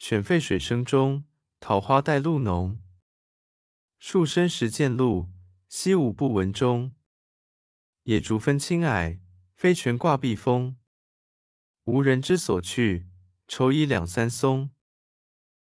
選廢水聲中，桃花帶露濃。樹深時見鹿，溪無不聞鐘。野竹分青矮，飛泉掛碧峰。無人之所去，愁倚兩三松。